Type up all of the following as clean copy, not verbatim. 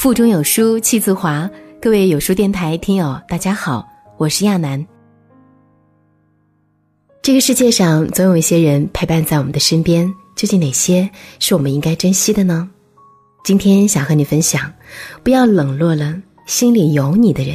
腹中有书气自华，各位有书电台听友大家好，我是亚楠。这个世界上总有一些人陪伴在我们的身边，究竟哪些是我们应该珍惜的呢？今天想和你分享，不要冷落了心里有你的人。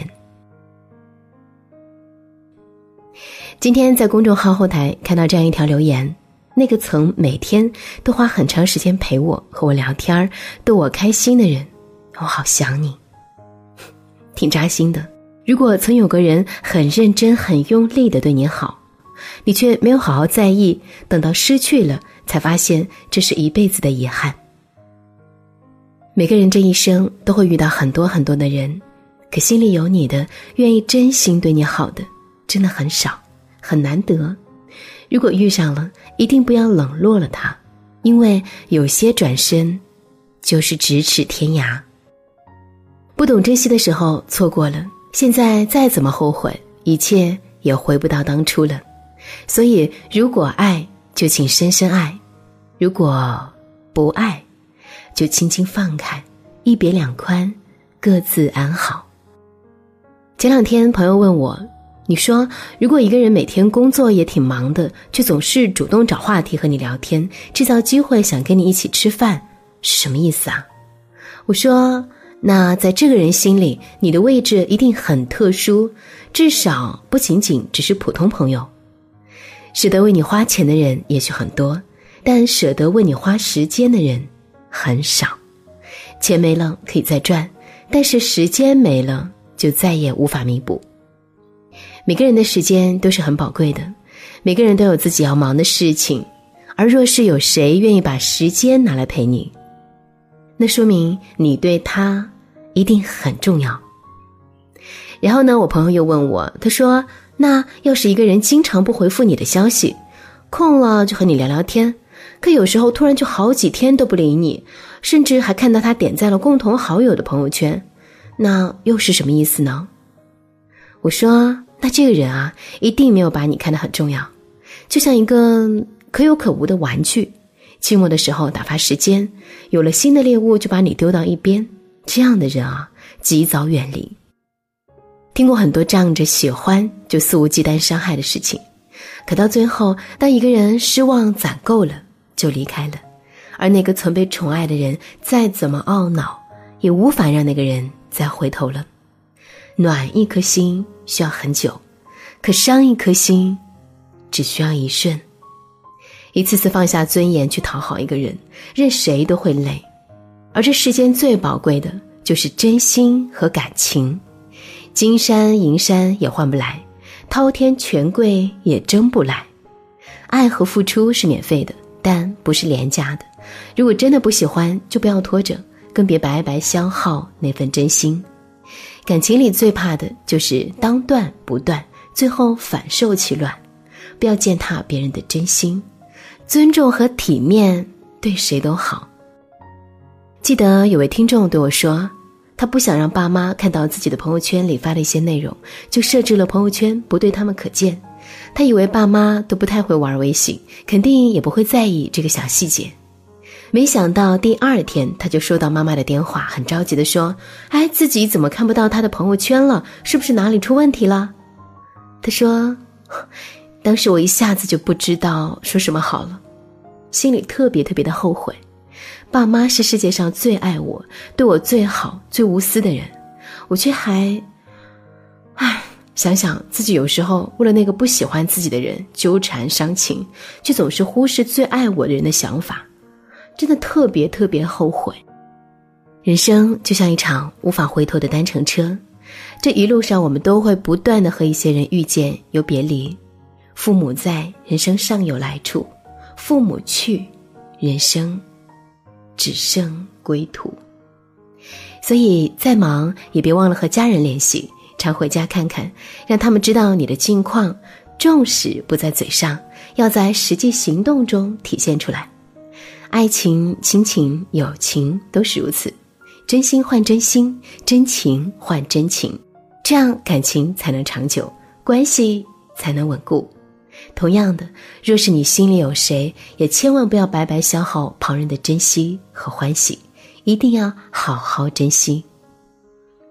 今天在公众号后台看到这样一条留言，那个曾每天都花很长时间陪我和我聊天逗我开心的人，我好想你。挺扎心的。如果曾有个人很认真很用力地对你好，你却没有好好在意，等到失去了才发现这是一辈子的遗憾。每个人这一生都会遇到很多很多的人，可心里有你的，愿意真心对你好的真的很少，很难得。如果遇上了，一定不要冷落了他，因为有些转身就是咫尺天涯。不懂珍惜的时候错过了，现在再怎么后悔，一切也回不到当初了。所以如果爱就请深深爱，如果不爱就轻轻放开，一别两宽，各自安好。前两天朋友问我，你说如果一个人每天工作也挺忙的，却总是主动找话题和你聊天，制造机会想跟你一起吃饭，是什么意思啊？我说，那在这个人心里，你的位置一定很特殊，至少不仅仅只是普通朋友。舍得为你花钱的人也许很多，但舍得为你花时间的人很少。钱没了可以再赚，但是时间没了就再也无法弥补。每个人的时间都是很宝贵的，每个人都有自己要忙的事情，而若是有谁愿意把时间拿来陪你，那说明你对他一定很重要。然后呢，我朋友又问我，他说，那要是一个人经常不回复你的消息，空了就和你聊聊天，可有时候突然就好几天都不理你，甚至还看到他点赞了共同好友的朋友圈，那又是什么意思呢？我说，那这个人啊，一定没有把你看得很重要，就像一个可有可无的玩具，期末的时候打发时间，有了新的猎物就把你丢到一边，这样的人啊，及早远离。听过很多仗着喜欢就肆无忌惮伤害的事情，可到最后，当一个人失望攒够了就离开了，而那个曾被宠爱的人再怎么懊恼，也无法让那个人再回头了。暖一颗心需要很久，可伤一颗心只需要一瞬。一次次放下尊严去讨好一个人，任谁都会累，而这世间最宝贵的就是真心和感情。金山银山也换不来，滔天权贵也争不来。爱和付出是免费的，但不是廉价的。如果真的不喜欢，就不要拖着，更别白白消耗那份真心。感情里最怕的就是当断不断，最后反受其乱。不要践踏别人的真心，尊重和体面对谁都好。记得有位听众对我说，他不想让爸妈看到自己的朋友圈里发的一些内容，就设置了朋友圈不对他们可见。他以为爸妈都不太会玩微信，肯定也不会在意这个小细节。没想到第二天他就收到妈妈的电话，很着急地说，自己怎么看不到他的朋友圈了，是不是哪里出问题了？他说，当时我一下子就不知道说什么好了，心里特别的后悔。爸妈是世界上最爱我，对我最好最无私的人，我却还想想自己有时候为了那个不喜欢自己的人纠缠伤情，却总是忽视最爱我的人的想法，真的特别后悔。人生就像一场无法回头的单程车，这一路上我们都会不断的和一些人遇见又别离。父母在，人生尚有来处；父母去，人生只剩归途。所以再忙也别忘了和家人联系，常回家看看，让他们知道你的近况。重视不在嘴上，要在实际行动中体现出来。爱情、亲情、友情都是如此，真心换真心，真情换真情，这样感情才能长久，关系才能稳固。同样的，若是你心里有谁，也千万不要白白消耗旁人的珍惜和欢喜，一定要好好珍惜。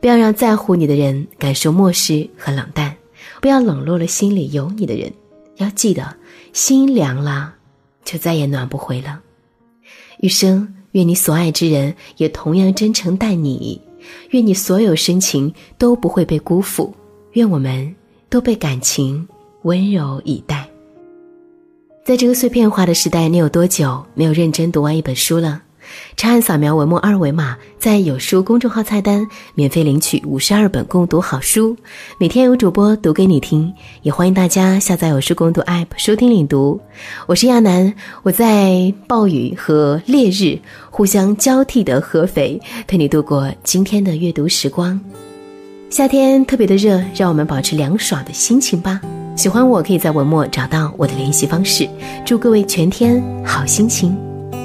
不要让在乎你的人感受漠视和冷淡，不要冷落了心里有你的人。要记得，心凉了，就再也暖不回了。余生，愿你所爱之人也同样真诚待你，愿你所有深情都不会被辜负，愿我们都被感情温柔以待。在这个碎片化的时代，你有多久没有认真读完一本书了？长按扫描文末二维码，在有书公众号菜单免费领取52本共读好书，每天有主播读给你听，也欢迎大家下载有书共读 App 收听领读。我是亚楠，我在暴雨和烈日互相交替的合肥，陪你度过今天的阅读时光。夏天特别的热，让我们保持凉爽的心情吧。喜欢我可以在文末找到我的联系方式。祝各位全天好心情。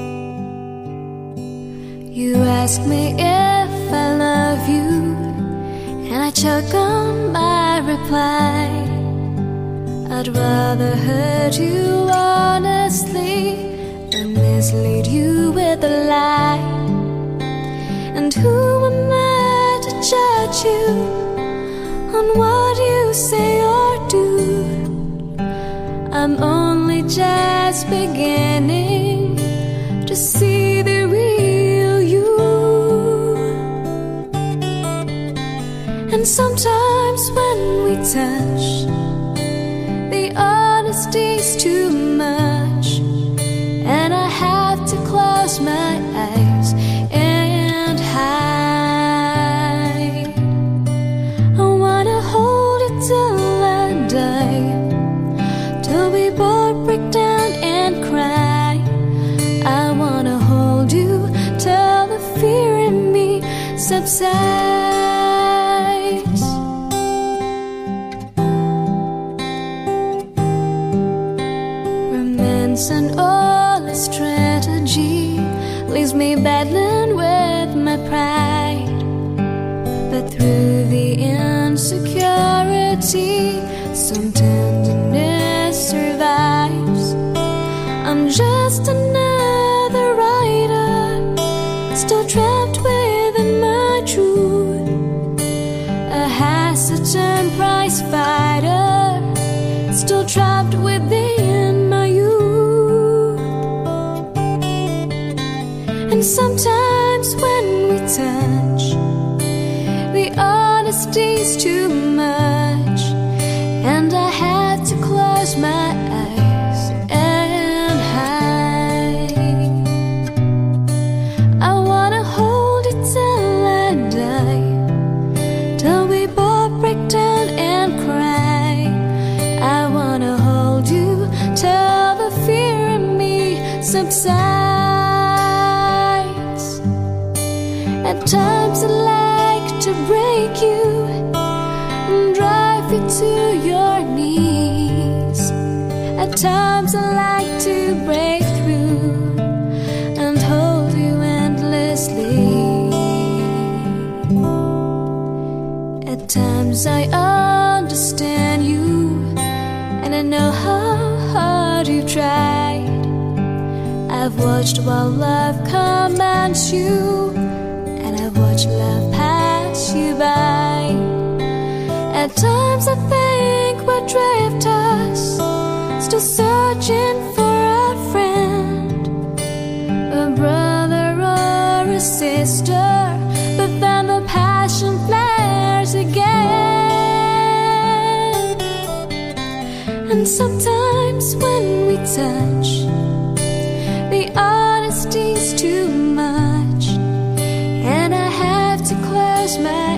You ask me if I love you, and I choke on my reply. I'd rather hurt you honestly than mislead you with a lie. And who am I to judge you on what you say or do? I'm only just beginning to see the real you. And sometimes when we touch, the honesty's too much, and I have to close my eyes and hide. I wanna hold it till I die, till we both break down and cry. I wanna hold you till the fear in me subsides. Romance and all its strategy leaves me battling with my pride, but through the insecurity some tenderness survives. I'm just another writer, still trapped within my truth, a hesitant prize fighter, still trapped within my youth. And sometimes when we touch, the honesty's too much, and I had to close my eyes and hide. I wanna hold it till I die, till we both break down and cry. I wanna hold you till the fear in me subsides. At times I like to break you and drive you to your knees. At times I like to break through and hold you endlessly. At times I understand you, and I know how hard you've tried. I've watched while love commands you, and I've watched love pass you by. At times I think we're drifters, still searching for a friend, a brother or a sister, but then the passion flares again. And sometimes when we touch, the honesty's too much, and I have to close my